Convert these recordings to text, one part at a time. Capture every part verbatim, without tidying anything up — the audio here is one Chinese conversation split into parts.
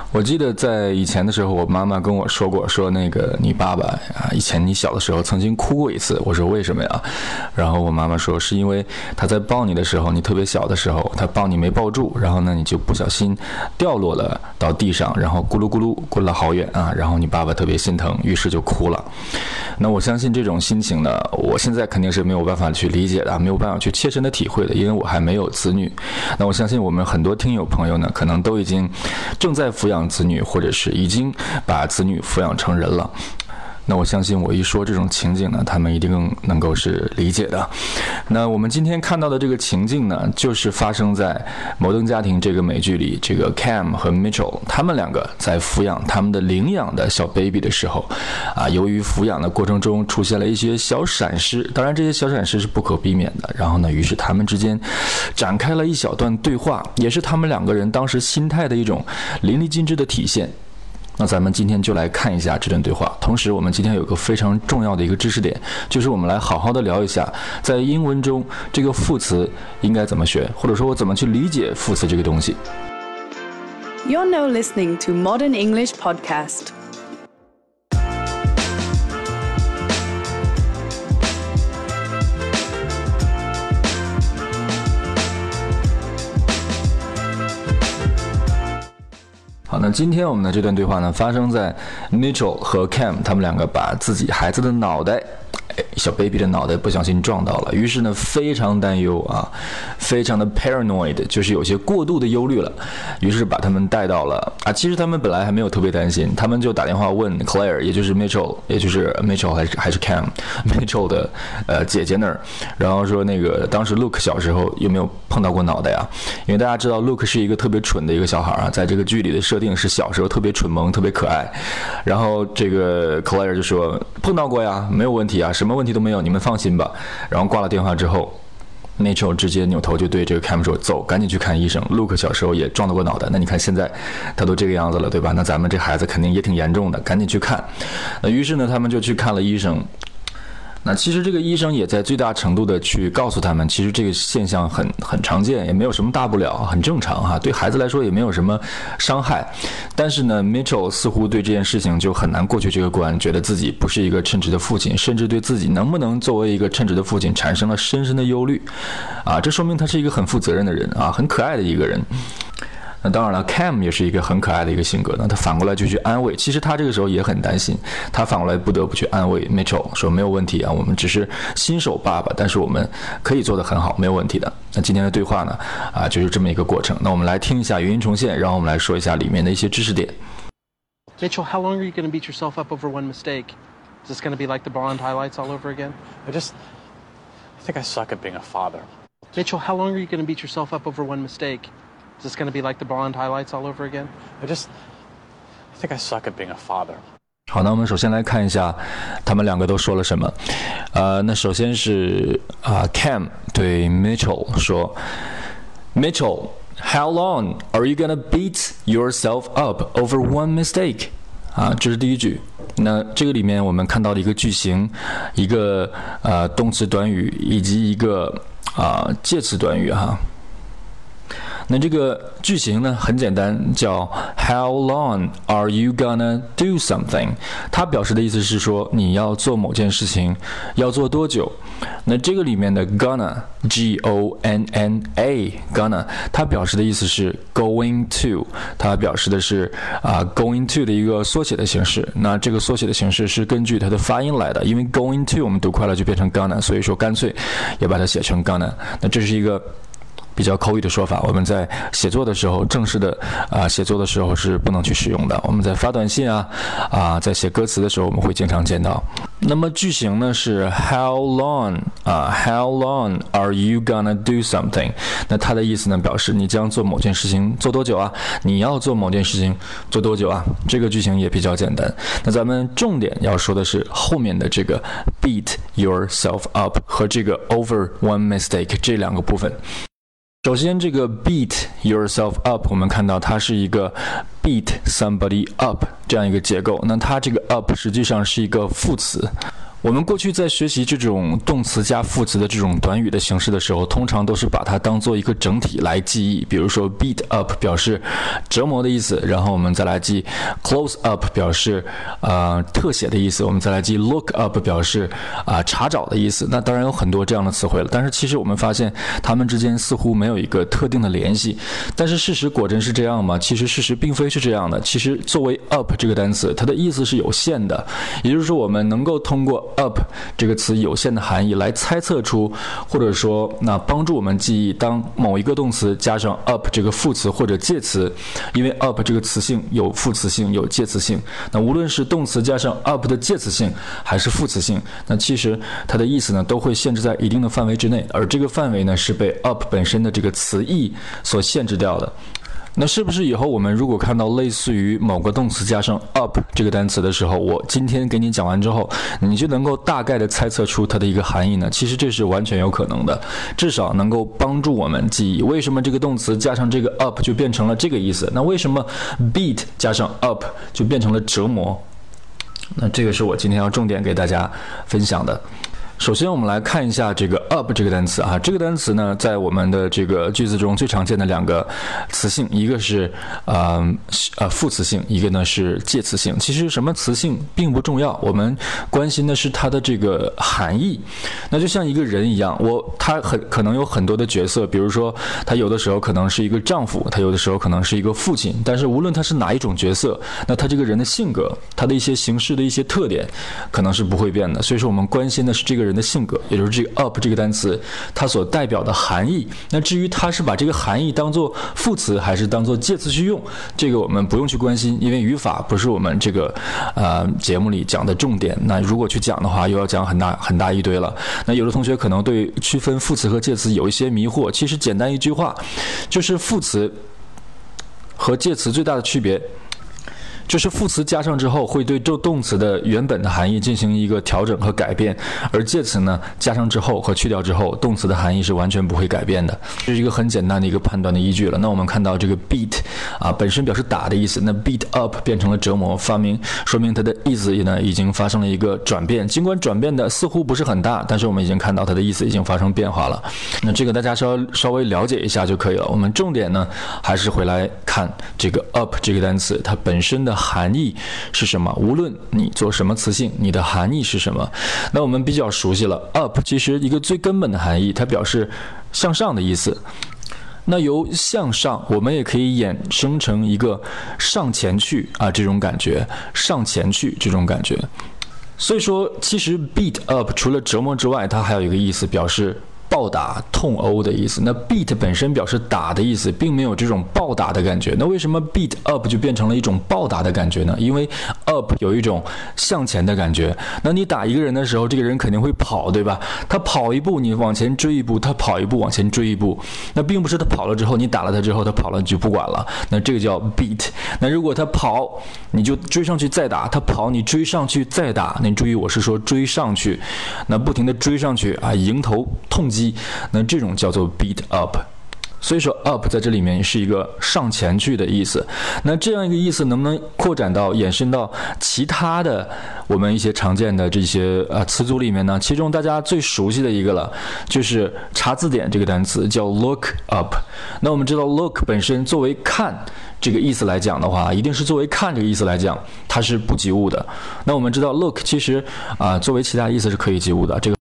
我记得在以前的时候，我妈妈跟我说过，说那个你爸爸啊，以前你小的时候曾经哭过一次。我说为什么呀？然后我妈妈说是因为他在抱你的时候，你特别小的时候，他抱你没抱住，然后呢你就不小心掉落了到地上，然后咕噜咕噜滚了好远啊，然后你爸爸特别心疼，于是就哭了。那我相信这种心情呢，我现在肯定是没有办法去理解的，没有办法去切身的体会的，因为我还没有子女。那我相信我们很多听友朋友呢，可能都已经正在抚养子女，或者是已经把子女抚养成人了。那我相信我一说这种情景呢，他们一定能够是理解的。那我们今天看到的这个情境呢，就是发生在《摩登家庭》这个美剧里，这个 Cam 和 Mitchell 他们两个在抚养他们的领养的小 baby 的时候啊，由于抚养的过程中出现了一些小闪失，当然这些小闪失是不可避免的。然后呢，于是他们之间展开了一小段对话，也是他们两个人当时心态的一种淋漓尽致的体现。那咱们今天就来看一下这段对话，同时我们今天有个非常重要的一个知识点，就是我们来好好的聊一下在英文中这个副词应该怎么学，或者说我怎么去理解副词这个东西。 You're now listening to Modern English Podcast. 好，那今天我们的这段对话呢，发生在 Mitchell 和 Cam 他们两个把自己孩子的脑袋，小 baby 的脑袋不小心撞到了，于是呢非常担忧啊，非常的 paranoid， 就是有些过度的忧虑了，于是把他们带到了啊，其实他们本来还没有特别担心，他们就打电话问 Claire， 也就是 Mitchell， 也就是 Mitchell 还是还是 Cam Mitchell 的呃姐姐那儿，然后说那个当时 Luke 小时候有没有碰到过脑袋啊？因为大家知道 Luke 是一个特别蠢的一个小孩啊，在这个剧里的设定是小时候特别蠢萌，特别可爱。然后这个 Claire 就说碰到过呀，没有问题啊，什么问题都没有，你们放心吧。然后挂了电话之后，Mitchell 直接扭头就对这个 Cam 说：“走，赶紧去看医生。Luke 小时候也撞到过脑袋，那你看现在他都这个样子了，对吧？那咱们这孩子肯定也挺严重的，赶紧去看。”那于是呢，他们就去看了医生。那其实这个医生也在最大程度的去告诉他们，其实这个现象很很常见，也没有什么大不了，很正常哈，对孩子来说也没有什么伤害。但是呢 Mitchell 似乎对这件事情就很难过去这个关，觉得自己不是一个称职的父亲，甚至对自己能不能作为一个称职的父亲产生了深深的忧虑啊，这说明他是一个很负责任的人啊，很可爱的一个人。那当然了 Cam 也是一个很可爱的一个性格，那他反过来就去安慰，其实他这个时候也很担心，他反过来不得不去安慰 Mitchell 说没有问题啊，我们只是新手爸爸，但是我们可以做得很好，没有问题的。那今天的对话呢啊，就是这么一个过程。那我们来听一下语音重现，然后我们来说一下里面的一些知识点。 Mitchell, how long are you going to beat yourself up over one mistake? Is this going to be like the blonde highlights all over again? I just I think I suck at being a father. Mitchell, how long are you going to beat yourself up over one mistake? Is this going to be like the blonde highlights all over again? I just I think I suck at being a father. 好，那我们首先来看一下他们两个都说了什么。呃，那首先是啊、呃、Cam 对 Mitchell 说 Mitchell, how long are you gonna beat yourself up over one mistake? 啊，这是第一句。那这个里面我们看到了一个句型，一个呃动词短语以及一个啊、呃、介词短语哈。那这个句型呢很简单，叫 How long are you gonna do something？ 它表示的意思是说你要做某件事情要做多久。那这个里面的 gonna G O N N A gonna 它表示的意思是 going to， 它表示的是啊、呃、going to 的一个缩写的形式。那这个缩写的形式是根据它的发音来的，因为 going to 我们读快了就变成 gonna， 所以说干脆也把它写成 gonna。那这是一个比较口语的说法，我们在写作的时候，正式的啊、呃、写作的时候是不能去使用的。我们在发短信啊啊、呃、在写歌词的时候，我们会经常见到。那么句型呢是 How long 啊、呃、How long are you gonna do something？ 那它的意思呢表示你将做某件事情做多久啊？你要做某件事情做多久啊？这个句型也比较简单。那咱们重点要说的是后面的这个 beat yourself up 和这个 over one mistake 这两个部分。首先这个 beat yourself up 我们看到它是一个 beat somebody up 这样一个结构，那它这个 up 实际上是一个副词， 我们过去在学习这种动词加副词的这种短语的形式的时候，通常都是把它当做一个整体来记忆。比如说 beat up 表示折磨的意思，然后我们再来记 close up 表示呃特写的意思，我们再来记 look up 表示啊、呃、查找的意思。那当然有很多这样的词汇了，但是其实我们发现它们之间似乎没有一个特定的联系。但是事实果真是这样吗？其实事实并非是这样的。其实作为 up 这个单词，它的意思是有限的，也就是说我们能够通过up 这个词有限的含义来猜测出，或者说那帮助我们记忆，当某一个动词加上 up 这个副词或者介词，因为 up 这个词性有副词性有介词性，那无论是动词加上 up 的介词性还是副词性，那其实它的意思呢都会限制在一定的范围之内，而这个范围呢是被 up 本身的这个词义所限制掉的。那是不是以后我们如果看到类似于某个动词加上 up 这个单词的时候，我今天给你讲完之后，你就能够大概的猜测出它的一个含义呢？其实这是完全有可能的，至少能够帮助我们记忆为什么这个动词加上这个 up 就变成了这个意思，那为什么 beat 加上 up 就变成了折磨。那这个是我今天要重点给大家分享的。首先我们来看一下这个 up 这个单词啊，这个单词呢在我们的这个句子中最常见的两个词性，一个是呃呃副词性，一个呢是介词性。其实什么词性并不重要，我们关心的是它的这个含义。那就像一个人一样，我他很可能有很多的角色，比如说他有的时候可能是一个丈夫，他有的时候可能是一个父亲，但是无论他是哪一种角色，那他这个人的性格，他的一些行事的一些特点可能是不会变的。所以说我们关心的是这个人人的性格，也就是这个 up 这个单词它所代表的含义。那至于它是把这个含义当做副词还是当做介词去用，这个我们不用去关心，因为语法不是我们这个呃节目里讲的重点。那如果去讲的话，又要讲很大很大一堆了。那有的同学可能对区分副词和介词有一些迷惑，其实简单一句话，就是副词和介词最大的区别就是副词加上之后会对这动词的原本的含义进行一个调整和改变，而介词呢加上之后和去掉之后，动词的含义是完全不会改变的。这是一个很简单的一个判断的依据了。那我们看到这个 beat 啊本身表示打的意思，那 beat up 变成了折磨，发明说明它的意思呢已经发生了一个转变，尽管转变的似乎不是很大，但是我们已经看到它的意思已经发生变化了。那这个大家稍稍微了解一下就可以了。我们重点呢还是回来看这个 up 这个单词它本身的含义是什么，无论你做什么词性，你的含义是什么。那我们比较熟悉了 up 其实一个最根本的含义，它表示向上的意思。那由向上我们也可以衍生成一个上前去啊这种感觉，上前去这种感觉。所以说其实 beat up 除了折磨之外，它还有一个意思表示暴打痛殴的意思。那 beat 本身表示打的意思，并没有这种暴打的感觉。那为什么 beat up 就变成了一种暴打的感觉呢？因为 up 有一种向前的感觉。那你打一个人的时候，这个人肯定会跑，对吧？他跑一步你往前追一步，他跑一步往前追一步。那并不是他跑了之后你打了他之后他跑了你就不管了，那这个叫 beat。那如果他跑你就追上去再打，他跑你追上去再打。那你注意我是说追上去，那不停的追上去啊，迎头痛击，那这种叫做 beat up。 所以说 up 在这里面是一个上前去的意思。那这样一个意思能不能扩展到延伸到其他的我们一些常见的这些呃词组里面呢？其中大家最熟悉的一个了，就是查字典这个单词叫 look up。 那我们知道 look 本身作为看这个意思来讲的话，一定是作为看这个意思来讲它是不及物的。那我们知道 look 其实啊、呃、作为其他意思是可以及物的，这个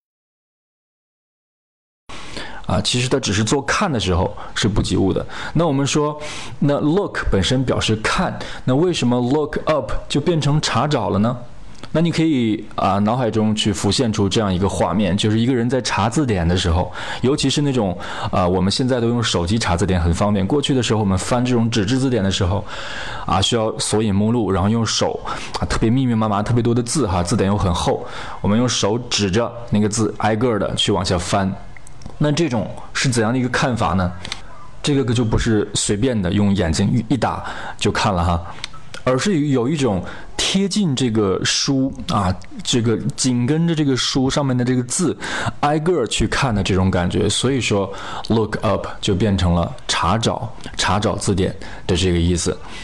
啊，其实它只是做看的时候是不及物的。那我们说，那 look 本身表示看，那为什么 look up 就变成查找了呢？那你可以啊，脑海中去浮现出这样一个画面，就是一个人在查字典的时候，尤其是那种啊，我们现在都用手机查字典很方便。过去的时候，我们翻这种纸质字典的时候，啊，需要索引目录，然后用手啊，特别密密麻麻、特别多的字哈，字典又很厚，我们用手指着那个字，挨个的去往下翻。那这种是怎样的一个看法呢？这个就不是随便的用眼睛一打就看了哈，而是有一种贴近这个书啊，这个紧跟着这个书上面的这个字挨个去看的这种感觉。所以说 look up 就变成了查找查找字典的这个意思。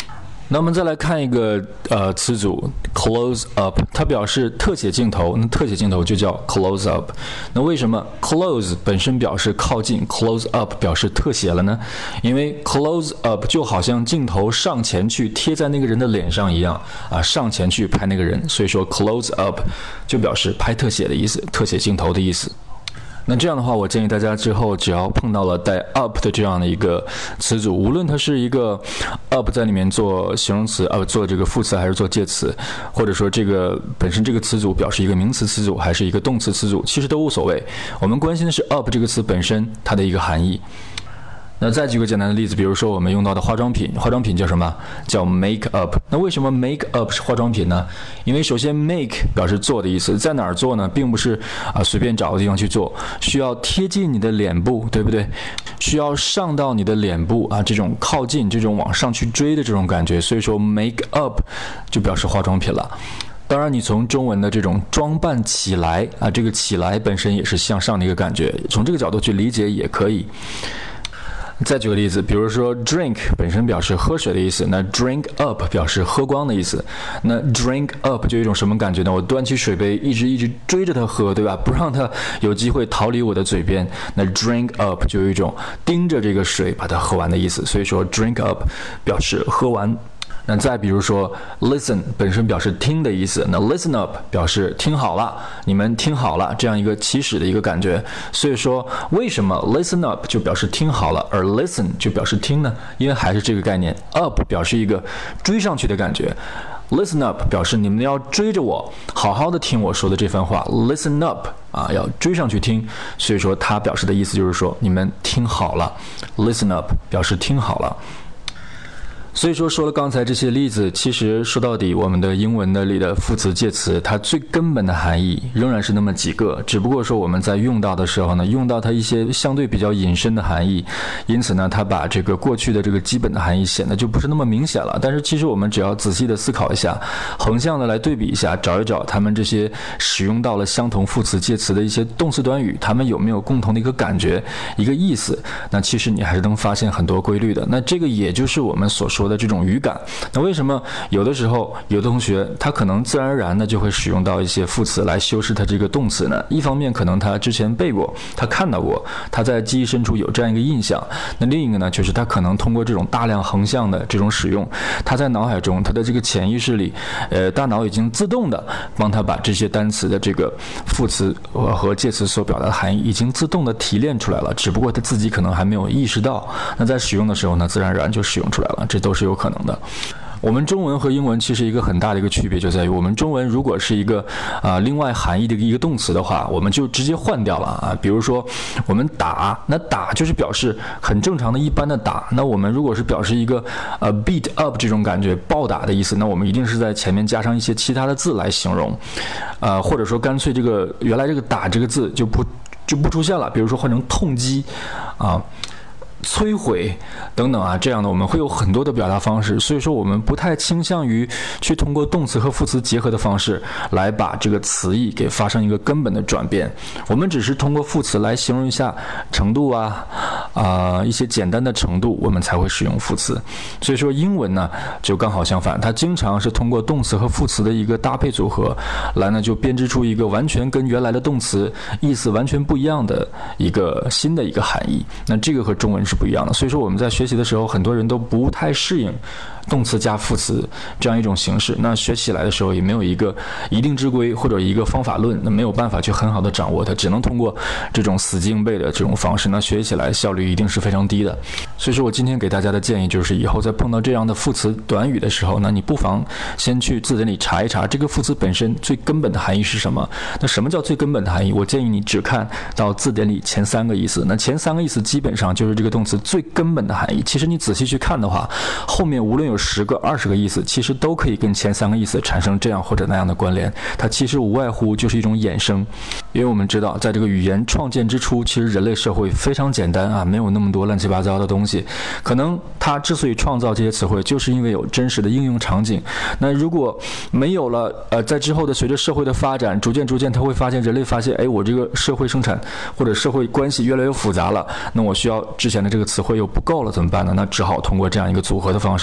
那我们再来看一个呃词组 close up， 它表示特写镜头，那特写镜头就叫 close up。那为什么 close 本身表示靠近 ，close up 表示特写了呢？因为 close up 就好像镜头上前去贴在那个人的脸上一样啊，上前去拍那个人，所以说 close up 就表示拍特写的意思，特写镜头的意思。那这样的话，我建议大家之后只要碰到了带 up 的这样的一个词组，无论它是一个 up 在里面做形容词，呃，做这个副词还是做介词，或者说这个本身这个词组表示一个名词词组还是一个动词词组，其实都无所谓。我们关心的是 up 这个词本身它的一个含义。那再举个简单的例子，比如说我们用到的化妆品，化妆品叫什么？叫 make up。那为什么 make up 是化妆品呢？因为首先 make 表示做的意思，在哪儿做呢？并不是啊随便找个地方去做，需要贴近你的脸部，对不对？需要上到你的脸部啊，这种靠近，这种往上去追的这种感觉，所以说 make up 就表示化妆品了。当然，你从中文的这种装扮起来啊，这个起来本身也是向上的一个感觉，从这个角度去理解也可以。再举个例子，比如说 drink 本身表示喝水的意思，那 drink up 表示喝光的意思。那 drink up 就有一种什么感觉呢？我端起水杯一直一直追着它喝，对吧？不让它有机会逃离我的嘴边。那 drink up 就有一种盯着这个水把它喝完的意思，所以说 drink up 表示喝完。那再比如说 listen 本身表示听的意思，那 listen up 表示听好了，你们听好了，这样一个起始的一个感觉。所以说为什么 listen up 就表示听好了，而 listen 就表示听呢？因为还是这个概念， up 表示一个追上去的感觉， listen up 表示你们要追着我好好的听我说的这番话， listen up 啊，要追上去听。所以说它表示的意思就是说你们听好了， listen up 表示听好了。所以说说了刚才这些例子，其实说到底我们的英文的里的副词介词，它最根本的含义仍然是那么几个，只不过说我们在用到的时候呢，用到它一些相对比较引申的含义，因此呢它把这个过去的这个基本的含义显得就不是那么明显了。但是其实我们只要仔细的思考一下，横向的来对比一下，找一找他们这些使用到了相同副词介词的一些动词短语，他们有没有共同的一个感觉一个意思，那其实你还是能发现很多规律的。那这个也就是我们所说的这种语感。那为什么有的时候有的同学他可能自然而然的就会使用到一些副词来修饰他这个动词呢？一方面可能他之前背过，他看到过，他在记忆深处有这样一个印象。那另一个呢，就是他可能通过这种大量横向的这种使用，他在脑海中他的这个潜意识里，呃，大脑已经自动的帮他把这些单词的这个副词和介词所表达的含义已经自动的提炼出来了，只不过他自己可能还没有意识到。那在使用的时候呢，自然而然就使用出来了，这都是有可能的。我们中文和英文其实一个很大的一个区别就在于，我们中文如果是一个啊、呃、另外含义的一个动词的话，我们就直接换掉了啊。比如说我们打，那打就是表示很正常的一般的打。那我们如果是表示一个呃 beat up 这种感觉，暴打的意思，那我们一定是在前面加上一些其他的字来形容，呃或者说干脆这个原来这个打这个字就不就不出现了，比如说换成痛击啊。摧毁等等啊，这样的我们会有很多的表达方式，所以说我们不太倾向于去通过动词和副词结合的方式来把这个词义给发生一个根本的转变。我们只是通过副词来形容一下程度啊啊、呃、一些简单的程度，我们才会使用副词。所以说英文呢就刚好相反，它经常是通过动词和副词的一个搭配组合来呢就编织出一个完全跟原来的动词意思完全不一样的一个新的一个含义。那这个和中文是不一样的，所以说我们在学习的时候，很多人都不太适应动词加副词这样一种形式。那学起来的时候也没有一个一定之规或者一个方法论，那没有办法去很好的掌握它，只能通过这种死记硬背的这种方式，那学起来效率一定是非常低的。所以说我今天给大家的建议就是，以后在碰到这样的副词短语的时候呢，你不妨先去字典里查一查这个副词本身最根本的含义是什么。那什么叫最根本的含义？我建议你只看到字典里前三个意思，那前三个意思基本上就是这个动词最根本的含义。其实你仔细去看的话，后面无论有十个二十个意思，其实都可以跟前三个意思产生这样或者那样的关联，它其实无外乎就是一种衍生。因为我们知道在这个语言创建之初，其实人类社会非常简单啊，没有那么多乱七八糟的东西。可能它之所以创造这些词汇，就是因为有真实的应用场景。那如果没有了呃，在之后的随着社会的发展，逐渐逐渐他会发现人类发现哎，我这个社会生产或者社会关系越来越复杂了，那我需要之前的这个词汇又不够了，怎么办呢？那只好通过这样一个组合的方式来产生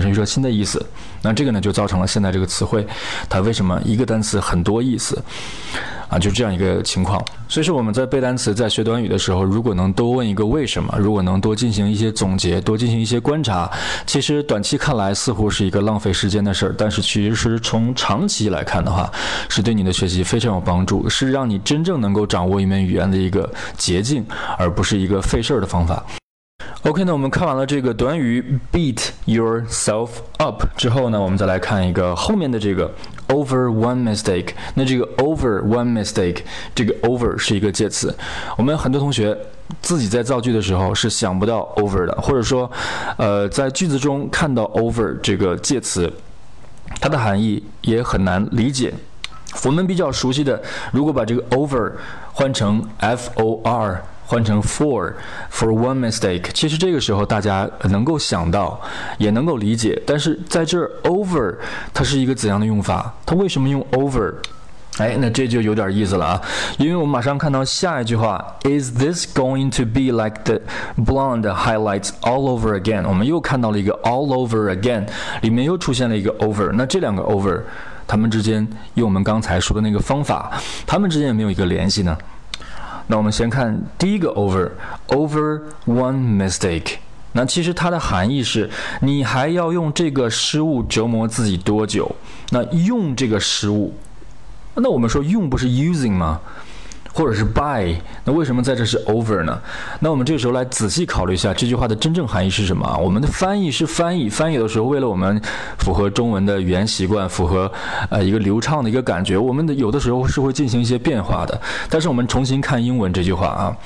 生一个新的意思。那这个呢就造成了现在这个词汇它为什么一个单词很多意思啊，就这样一个情况。所以说我们在背单词在学短语的时候，如果能多问一个为什么，如果能多进行一些总结，多进行一些观察，其实短期看来似乎是一个浪费时间的事儿，但是其实从长期来看的话，是对你的学习非常有帮助，是让你真正能够掌握一门语言的一个捷径，而不是一个费事儿的方法。OK， 那我们看完了这个短语 beat yourself up 之后呢，我们再来看一个后面的这个 over one mistake。那这个 over one mistake， 这个 over 是一个介词。我们很多同学自己在造句的时候是想不到 over 的，或者说，呃，在句子中看到 over 这个介词，它的含义也很难理解。我们比较熟悉的，如果把这个 over 换成 F O R。换成 for for one mistake， 其实这个时候大家能够想到，也能够理解。但是在这儿 over 它是一个怎样的用法？它为什么用 over？ 哎，那这就有点意思了啊！因为我们马上看到下一句话 ，Is this going to be like the blonde highlights all over again？ 我们又看到了一个 all over again， 里面又出现了一个 over。那这两个 over， 它们之间用我们刚才说的那个方法，它们之间有没有一个联系呢？那我们先看第一个 over over one mistake， 那其实它的含义是你还要用这个失误折磨自己多久？那用这个失误，那我们说用不是 using 吗？或者是 by， 那为什么在这是 over 呢？那我们这个时候来仔细考虑一下这句话的真正含义是什么啊？我们的翻译是翻译，翻译的时候为了我们符合中文的语言习惯，符合呃一个流畅的一个感觉，我们的有的时候是会进行一些变化的。但是我们重新看英文这句话啊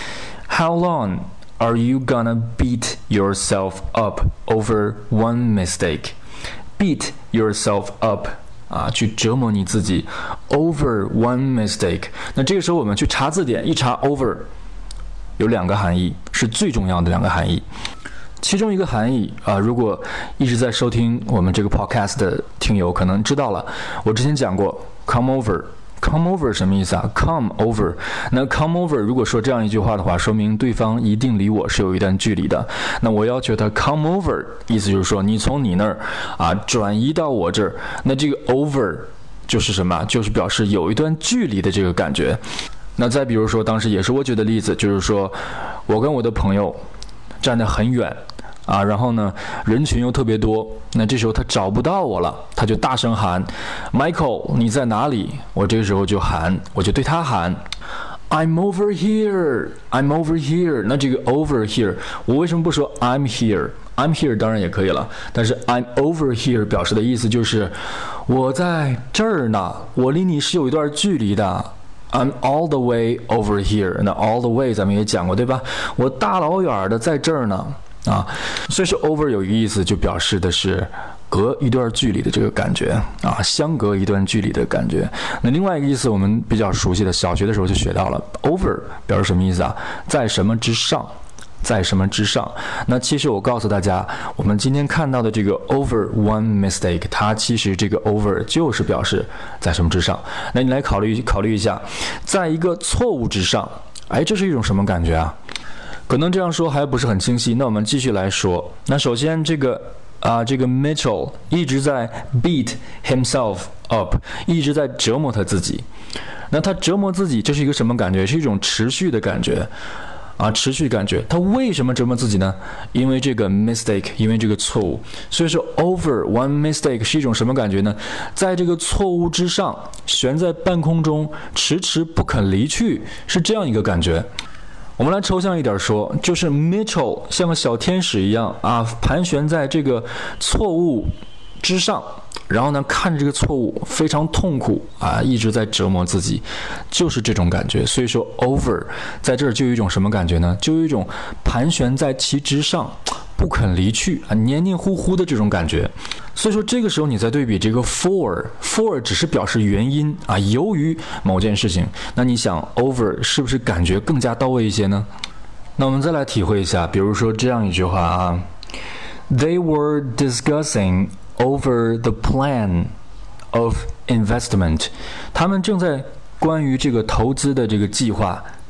，How long are you gonna beat yourself up over one mistake? Beat yourself up。啊，去折磨你自己 over one mistake。 那这个时候我们去查字典，一查 over 有两个含义，是最重要的两个含义。其中一个含义啊，如果一直在收听我们这个 podcast 的听友可能知道了，我之前讲过 come over。Come over 什么意思啊 ？Come over， 那 come over 如果说这样一句话的话，说明对方一定离我是有一段距离的。那我要求他 come over， 意思就是说你从你那儿啊转移到我这儿。那这个 over 就是什么？就是表示有一段距离的这个感觉。那再比如说，当时也是我举的例子，就是说我跟我的朋友站得很远。啊，然后呢，人群又特别多，那这时候他找不到我了，他就大声喊 Michael 你在哪里？我这个时候就喊，我就对他喊 I'm over here I'm over here。 那这个 over here 我为什么不说 I'm here I'm here 当然也可以了，但是 I'm over here 表示的意思就是我在这儿呢，我离你是有一段距离的。I'm all the way over here。 那 all the way 咱们也讲过对吧？我大老远的在这儿呢啊，所以说 over 有一个意思，就表示的是隔一段距离的这个感觉啊，相隔一段距离的感觉。那另外一个意思，我们比较熟悉的，小学的时候就学到了 over 表示什么意思啊？在什么之上，在什么之上。那其实我告诉大家，我们今天看到的这个 over one mistake， 它其实这个 over 就是表示在什么之上。那你来考虑考虑一下，在一个错误之上，哎，这是一种什么感觉啊？可能这样说还不是很清晰，那我们继续来说。那首先这个啊、呃，这个 Mitchell 一直在 beat himself up， 一直在折磨他自己。那他折磨自己，这是一个什么感觉？是一种持续的感觉啊，持续感觉。他为什么折磨自己呢？因为这个 mistake， 因为这个错误。所以说 over one mistake 是一种什么感觉呢？在这个错误之上，悬在半空中，迟迟不肯离去，是这样一个感觉。我们来抽象一点说，就是 Mitchell 像个小天使一样啊，盘旋在这个错误之上，然后呢，看着这个错误非常痛苦啊，一直在折磨自己，就是这种感觉。所以说 over 在这儿就有一种什么感觉呢？就有一种盘旋在其之上，不肯离去啊，黏黏糊糊的这种感觉。所以说这个时候你再对比这个 for for 只是表示原因啊，由于某件事情，那你想 over 是不是感觉更加到位一些呢？那我们再来体会一下，比如说这样一句话啊 They were discussing over the plan of investment。 他们正在关于这个投资的这个计划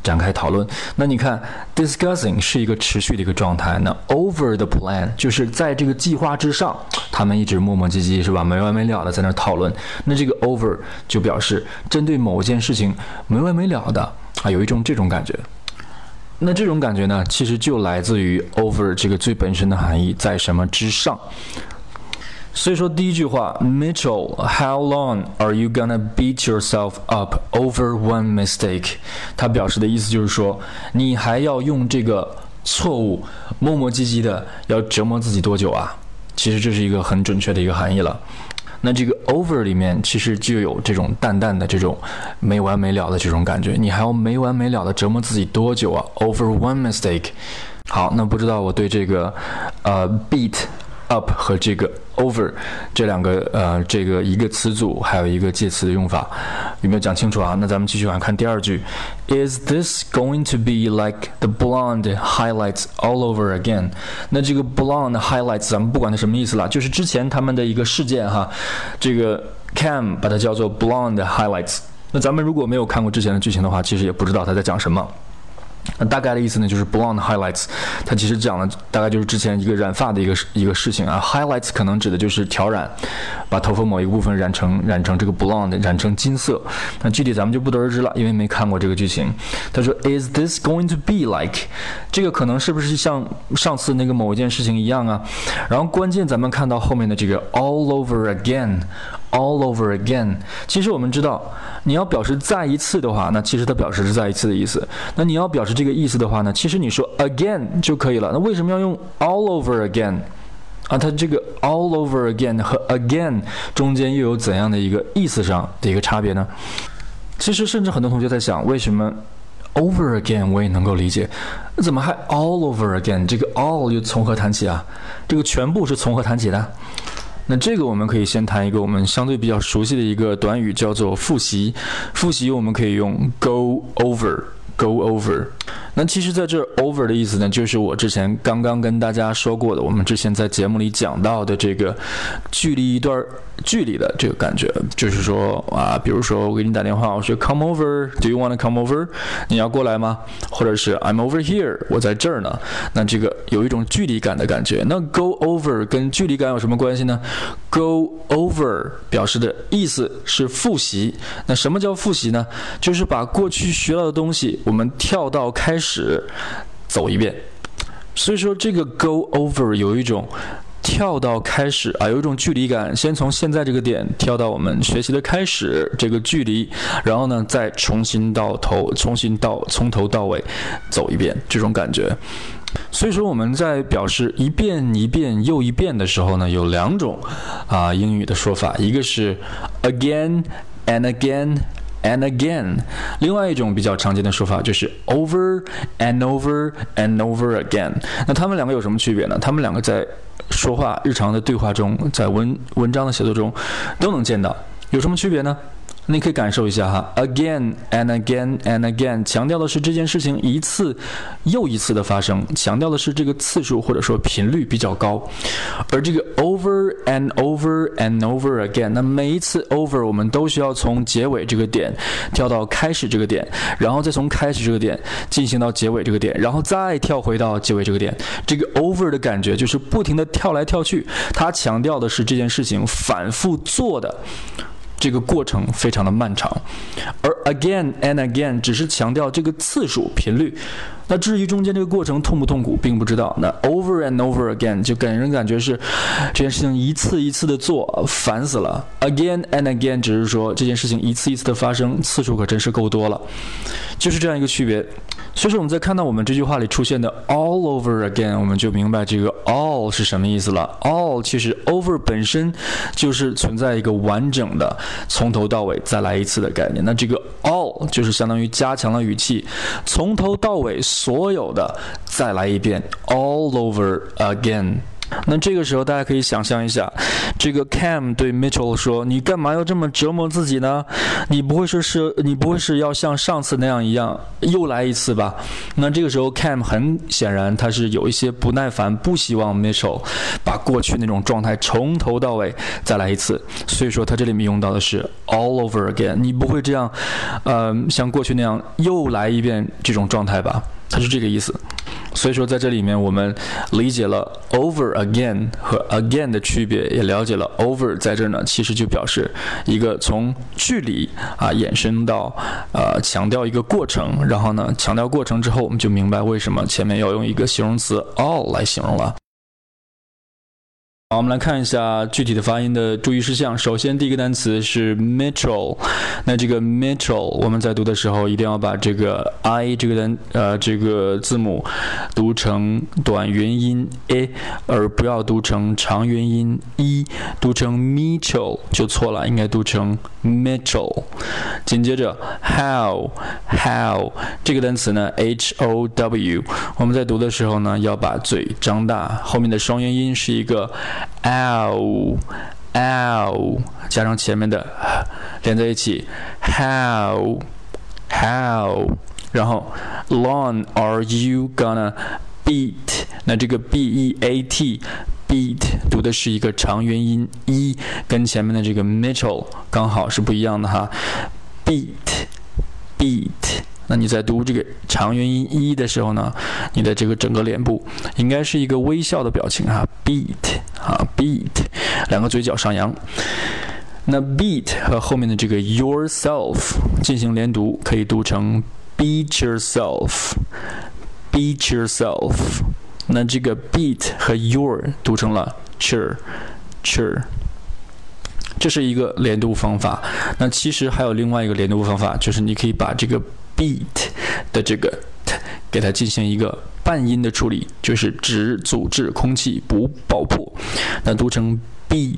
展开讨论。那你看 discussing 是一个持续的一个状态，那 over the plan 就是在这个计划之上，他们一直磨磨唧唧是吧，没完没了的在那讨论。那这个 over 就表示针对某件事情没完没了的啊，有一种这种感觉。那这种感觉呢，其实就来自于 over 这个最本身的含义，在什么之上。所以说第一句话 Mitchell, how long are you gonna beat yourself up over one mistake? 它表示的意思就是说，你还要用这个错误磨磨唧唧的要折磨自己多久啊？其实这是一个很准确的一个含义了。那这个 over 里面其实就有这种淡淡的这种没完没了的这种感觉，你还要没完没了的折磨自己多久啊 over one mistake。 好，那不知道我对这个呃 beat up 和这个 over 这两个呃这个一个词组还有一个介词的用法有没有讲清楚啊？那咱们继续往看第二句 Is this going to be like the blonde highlights all over again? 那这个 blonde highlights 咱们不管它什么意思啦，就是之前他们的一个事件哈，这个 Cam 把它叫做 blonde highlights。 那咱们如果没有看过之前的剧情的话，其实也不知道他在讲什么。那大概的意思呢，就是 blonde highlights， 它其实讲的大概就是之前一个染发的一个一个事情啊。highlights 可能指的就是挑染，把头发某一个部分染成染成这个 blonde， 染成金色。那具体咱们就不得而知了，因为没看过这个剧情。他说 Is this going to be like？ 这个可能是不是像上次那个某一件事情一样啊？然后关键咱们看到后面的这个 all over again。all over again， 其实我们知道，你要表示再一次的话，那其实它表示是再一次的意思。那你要表示这个意思的话呢，其实你说 again 就可以了。那为什么要用 all over again？ 啊，它这个 all over again 和 again 中间又有怎样的一个意思上的一个差别呢？其实甚至很多同学在想，为什么 over again 我也能够理解，怎么还 all over again？ 这个 all 又从何谈起啊？这个全部是从何谈起的？那这个我们可以先谈一个我们相对比较熟悉的一个短语，叫做复习。复习我们可以用 go over。go over， 那其实在这 over 的意思呢，就是我之前刚刚跟大家说过的，我们之前在节目里讲到的这个距离一段距离的这个感觉，就是说啊，比如说我给你打电话，我说 come over，do you want to come over？ 你要过来吗？或者是 I'm over here， 我在这儿呢。那这个有一种距离感的感觉。那 go over 跟距离感有什么关系呢？ go over 表示的意思是复习。那什么叫复习呢？就是把过去学到的东西我们跳到开始走一遍。所以说这个 go over 有一种跳到开始啊，有一种距离感，先从现在这个点跳到我们学习的开始这个距离，然后呢再重新到头重新到从头到尾走一遍，这种感觉。所以说我们在表示一遍一遍又一遍的时候呢，有两种啊英语的说法，一个是 again and again and again， 另外一种比较常见的说法就是 over and over and over again。 那他们两个有什么区别呢？他们两个在说话日常的对话中，在文文章的写作中都能见到。有什么区别呢？你可以感受一下哈 again and again and again 强调的是这件事情一次又一次的发生，强调的是这个次数或者说频率比较高。而这个 over and over and over again， 那每一次 over 我们都需要从结尾这个点跳到开始这个点，然后再从开始这个点进行到结尾这个点，然后再跳回到结尾这个点。这个 over 的感觉就是不停的跳来跳去，它强调的是这件事情反复做的这个过程非常的漫长，而 again and again 只是强调这个次数频率。那至于中间这个过程痛不痛苦并不知道。那 over and over again 就给人感觉是这件事情一次一次的做，烦死了。 again and again 只是说这件事情一次一次的发生，次数可真是够多了，就是这样一个区别。所以说我们在看到我们这句话里出现的 all over again， 我们就明白这个 all 是什么意思了。 all 其实 over 本身就是存在一个完整的从头到尾再来一次的概念，那这个 all 就是相当于加强了语气，从头到尾所有的再来一遍 all over again。 那这个时候大家可以想象一下，这个 Cam 对 Mitchell 说：“你干嘛要这么折磨自己呢？你不会是是，你不会是要像上次那样一样又来一次吧？”那这个时候 Cam 很显然他是有一些不耐烦，不希望 Mitchell 把过去那种状态从头到尾再来一次，所以说他这里面用到的是 all over again。你不会这样，呃，像过去那样又来一遍这种状态吧？它是这个意思。所以说在这里面我们理解了 over again 和 again 的区别，也了解了 over 在这呢其实就表示一个从距离啊衍生到呃强调一个过程，然后呢强调过程之后，我们就明白为什么前面要用一个形容词 all 来形容了。好，我们来看一下具体的发音的注意事项。首先第一个单词是 Mitchell， 那这个 Mitchell 我们在读的时候一定要把这个 I 这个单呃这个字母读成短元音 a， 而不要读成长元音 e， 读成 Mitchell 就错了，应该读成 Mitchell。紧接着 how how 这个单词呢 H O W， 我们在读的时候呢要把嘴张大，后面的双元音是一个ow ow 加上前面的连在一起 how how， 然后 long are you gonna beat， 那这个 B E A T beat 读的是一个长元音 e， 跟前面的这个 Mitchell 刚好是不一样的哈 beat beat，那你在读这个长元音一的时候呢，你的这个整个脸部应该是一个微笑的表情哈 beat 啊 beat， 两个嘴角上扬。那 beat 和后面的这个 yourself 进行连读，可以读成 beat yourself beat yourself， 那这个 beat 和 your 读成了 chur chur，这是一个连读方法。那其实还有另外一个连读方法，就是你可以把这个 beat 的这个 t 给它进行一个半音的处理，就是只阻滞空气不爆破，那读成 beat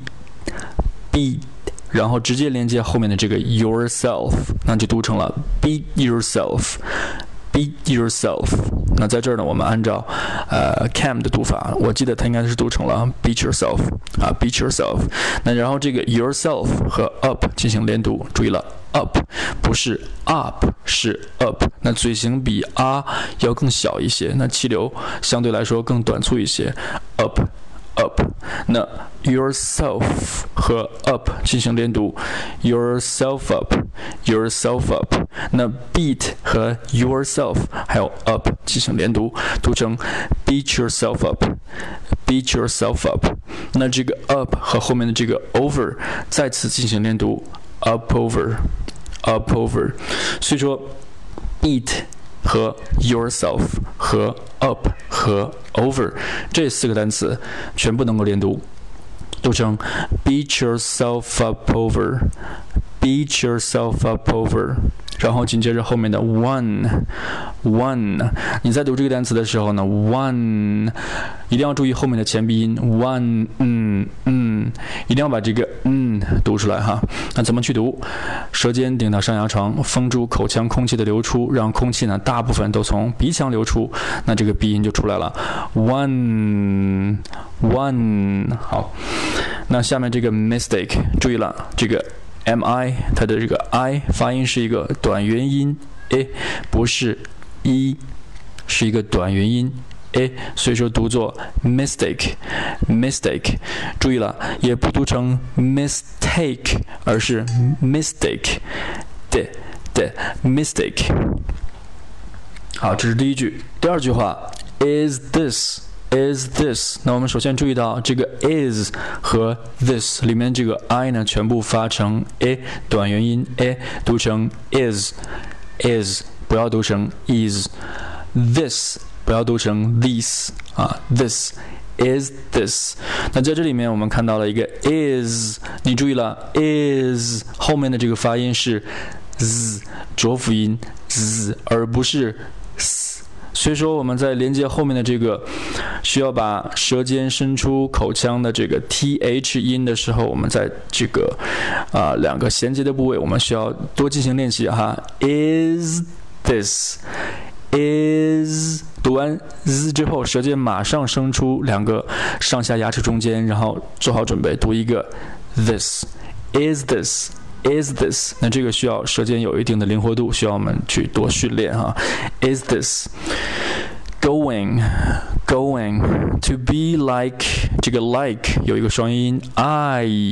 beat， 然后直接连接后面的这个 yourself， 那就读成了 beat yourself beat yourself。 那在这儿呢，我们按照呃 Cam 的读法，我记得它应该是读成了 beat yourself 啊 beat yourself。 那然后这个 yourself 和 up 进行连读，注意了 up 不是 up 是 up， 那嘴型比 r 要更小一些，那气流相对来说更短促一些 up up， 那 yourself 和 up 进行连读 yourself up yourself up， 那 beat 和 yourself 还有 up 进行连读，读成 beat yourself up beat yourself up， 那这个 up 和后面的这个 over 再次进行连读 up over up over， 所以说 beat和 yourself 和 up 和 over 这四个单词全部能够连读，读成 beat yourself up over beat yourself up over， 然后紧接着后面的 one one， 你在读这个单词的时候呢 one 一定要注意后面的前鼻音 one 嗯嗯，一定要把这个嗯读出来哈。那怎么去读？舌尖顶到上牙床，封住口腔空气的流出，让空气呢大部分都从鼻腔流出，那这个鼻音就出来了 one one。 好，那下面这个 mistake 注意了，这个 mi 它的这个 i 发音是一个短元音 a， 不是 e， 是一个短元音 a， 所以说读作 mistake mistake， 注意了，也不读成 mistake， 而是 mistake 的的 mistake。 好，这是第一句。第二句话 is this is this， 那我们首先注意到这个 is 和 this 里面这个 i 呢全部发成 a 短元音 a， 读成 is is， 不要读成 is， this 不要读成 these 啊 this is this。 那在这里面我们看到了一个 is， 你注意了 is 后面的这个发音是 z 浊辅音 z， 而不是 s， 所以说我们在连接后面的这个需要把舌尖伸出口腔的这个 th 音的时候，我们在这个啊、呃、两个衔接的部位我们需要多进行练习哈。 is this is 读完 z 之后，舌尖马上伸出两个上下牙齿中间，然后做好准备读一个 this is this is this。那这个需要舌尖有一定的灵活度，需要我们去多训练哈。is this going going to be like 这个 like 有一个双音 I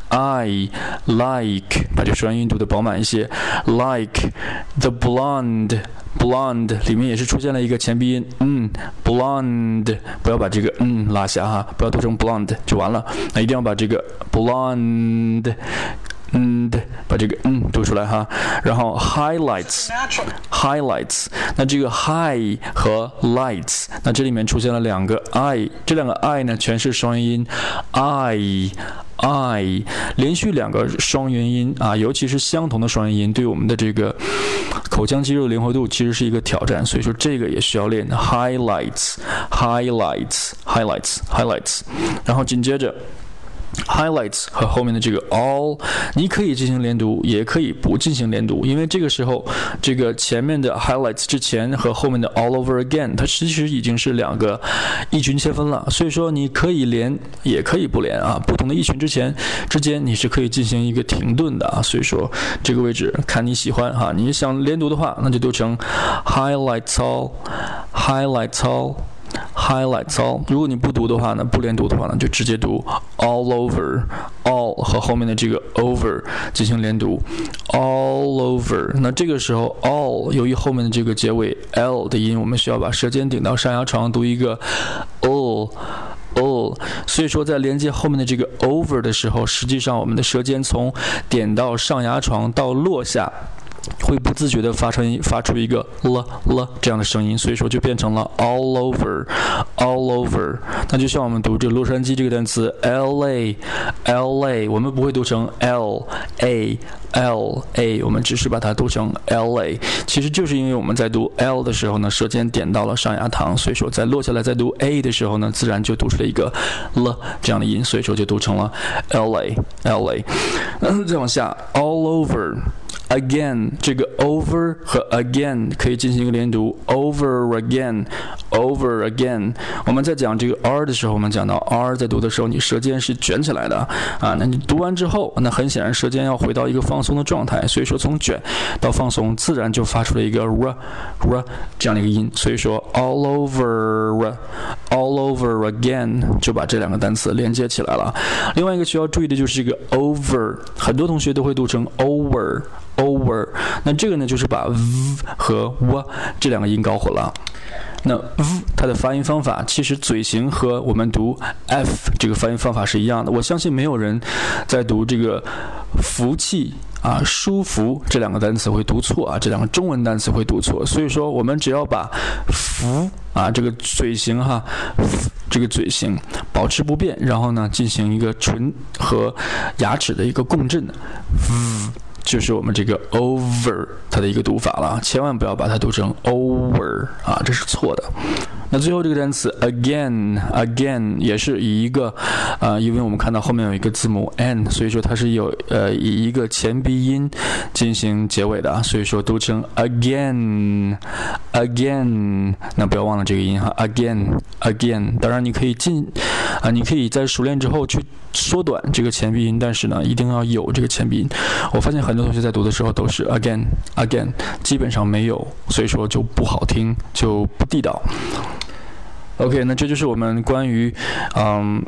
I like 把这个双音读得饱满一些 like the blonde blonde 里面也是出现了一个前鼻音嗯 blonde 不要把这个嗯拉下哈，不要读成 blonde 就完了，那一定要把这个 blonde嗯，把这个嗯读出来哈，然后 highlights highlights， 那这个 high 和 lights， 那这里面出现了两个 I， 这两个 I 呢全是双元音 I I， 连续两个双元音啊，尤其是相同的双元音，对我们的这个口腔肌肉灵活度其实是一个挑战，所以说这个也需要练 highlights highlights highlights highlights， 然后紧接着highlights 和后面的这个 all 你可以进行连读，也可以不进行连读，因为这个时候这个前面的 highlights 之前和后面的 all over again 它其实已经是两个异群切分了，所以说你可以连也可以不连啊，不同的异群之前之间你是可以进行一个停顿的啊，所以说这个位置看你喜欢哈，你想连读的话那就读成 highlights all highlights all highlights all， 如果你不读的话呢，不连读的话呢，就直接读 all over all 和后面的这个 over 进行连读 all over。那这个时候 all 由于后面的这个结尾 l 的音，我们需要把舌尖顶到上牙床读一个 all all， 所以说在连接后面的这个 over 的时候，实际上我们的舌尖从点到上牙床到落下会不自觉地发出发出一个了了这样的声音，所以说就变成了 all over all over。 那就像我们读这洛杉矶这个单词 L A L A， 我们不会读成 L A L A， 我们只是把它读成 L A， 其实就是因为我们在读 L 的时候呢，舌尖点到了上牙膛，所以说在落下来再读 A 的时候呢，自然就读出了一个了这样的音，所以说就读成了 L A L A。 再往下 all over again， 这个 over 和 again 可以进行一个连读 over again over again。 我们在讲这个 R 的时候，我们讲到 R 在读的时候你舌尖是卷起来的啊，那你读完之后，那很显然舌尖要回到一个放松的状态，所以说从卷到放松自然就发出了一个 r r 这样的一个音，所以说 all over all over again 就把这两个单词连接起来了。另外一个需要注意的就是这个 over， 很多同学都会读成 over over， 那这个呢就是把 v 和 w 这两个音搞混了。那 v 它的发音方法其实嘴型和我们读 f 这个发音方法是一样的，我相信没有人在读这个福气啊舒服这两个单词会读错啊，这两个中文单词会读错，所以说我们只要把福啊这个嘴型哈这个嘴型保持不变，然后呢进行一个唇和牙齿的一个共振 v就是我们这个 over 它的一个读法了，千万不要把它读成 over 啊，这是错的。那最后这个单词 again again 也是以一个呃，因为我们看到后面有一个字母 n， 所以说它是有呃以一个前鼻音进行结尾的，所以说读成 again again， 那不要忘了这个音哈 again again。 当然你可以进啊、呃，你可以在熟练之后去缩短这个前鼻音，但是呢一定要有这个前鼻音。我发现很多同学在读的时候都是 again again， 基本上没有，所以说就不好听，就不地道。OK， 那这就是我们关于嗯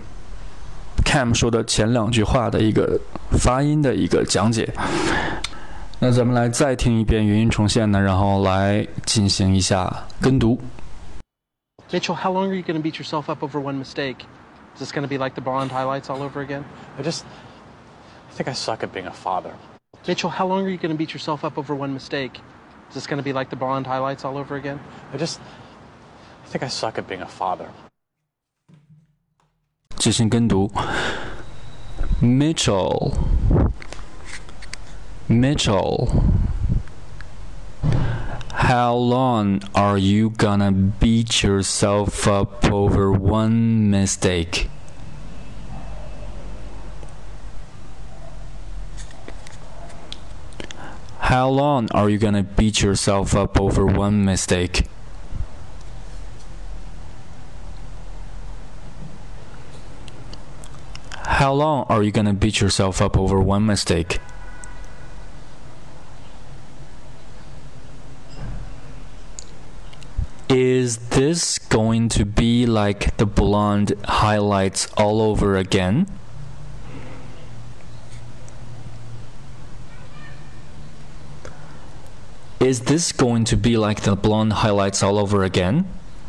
Cam 说的前两句话的一个发音的一个讲解。那咱们来再听一遍原音重现呢，然后来进行一下跟读。 Mitchell, how long are you going to beat yourself up over one mistake? Is this going to be like the blonde highlights all over again? I just, I think I suck at being a father. Mitchell, how long are you going to beat yourself up over one mistake? Is this going to be like the blonde highlights all over again? I just, I think I suck at being a father. 进行跟读 Mitchell Mitchell How long are you gonna beat yourself up over one mistake? How long are you gonna beat yourself up over one mistake? How long are you gonna beat yourself up over one mistake? Is this going to be like the blonde highlights all over again? Is this going to be like the blonde highlights all over again?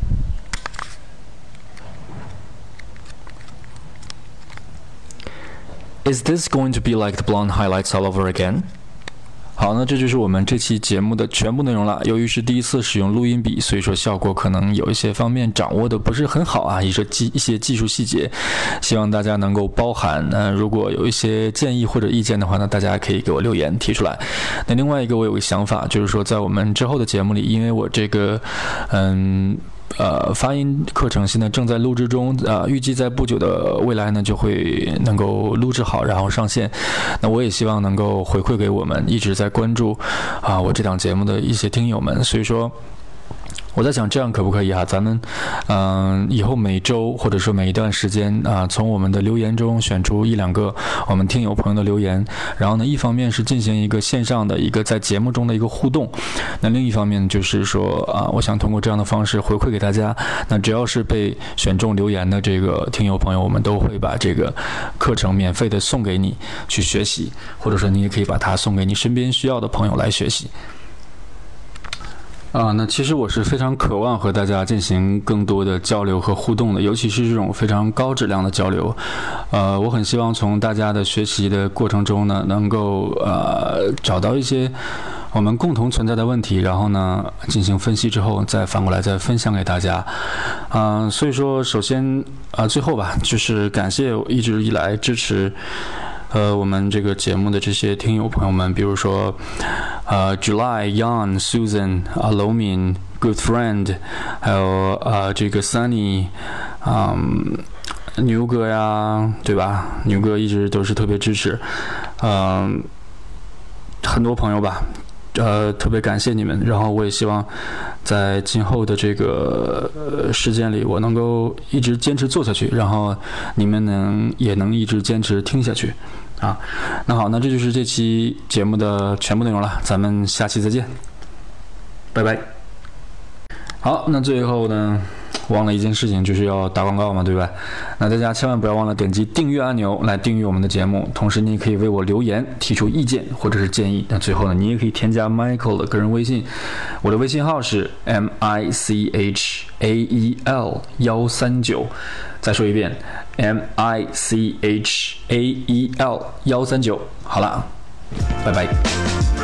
Is this going to be like the blonde highlights all over again? 好，那这就是我们这期节目的全部内容了。由于是第一次使用录音笔，所以说效果可能有一些方面掌握的不是很好啊，一些技一些技术细节，希望大家能够包涵。那、呃、如果有一些建议或者意见的话呢，大家可以给我留言提出来。那另外一个我有个想法，就是说在我们之后的节目里，因为我这个嗯。呃，发音课程现在正在录制中，呃，预计在不久的未来呢就会能够录制好，然后上线。那我也希望能够回馈给我们一直在关注啊、呃、我这档节目的一些听友们，所以说。我在想这样可不可以啊？咱们，嗯、呃，以后每周或者说每一段时间啊、呃，从我们的留言中选出一两个我们听友朋友的留言，然后呢，一方面是进行一个线上的一个在节目中的一个互动，那另一方面就是说啊、呃，我想通过这样的方式回馈给大家。那只要是被选中留言的这个听友朋友，我们都会把这个课程免费的送给你去学习，或者说你也可以把它送给你身边需要的朋友来学习。啊，那其实我是非常渴望和大家进行更多的交流和互动的，尤其是这种非常高质量的交流。呃，我很希望从大家的学习的过程中呢，能够呃找到一些我们共同存在的问题，然后呢进行分析之后，再反过来再分享给大家。嗯、呃，所以说，首先啊、呃，最后吧，就是感谢一直以来支持。呃，我们这个节目的这些听友朋友们，比如说，呃 ，July、Yan、Susan、Alomin、Good Friend， 还有呃这个 Sunny， 嗯，牛哥呀，对吧？牛哥一直都是特别支持，嗯、呃，很多朋友吧。呃，特别感谢你们，然后我也希望在今后的这个、呃、时间里，我能够一直坚持做下去，然后你们能也能一直坚持听下去，啊，那好，那这就是这期节目的全部内容了，咱们下期再见，拜拜。好，那最后呢，忘了一件事情，就是要打广告嘛，对吧？那大家千万不要忘了点击订阅按钮来订阅我们的节目，同时你也可以为我留言提出意见或者是建议。那最后呢，你也可以添加 Michael 的个人微信，我的微信号是 M I C H A E L 一三九，再说一遍 M I C H A E L 一三九。好了，拜拜。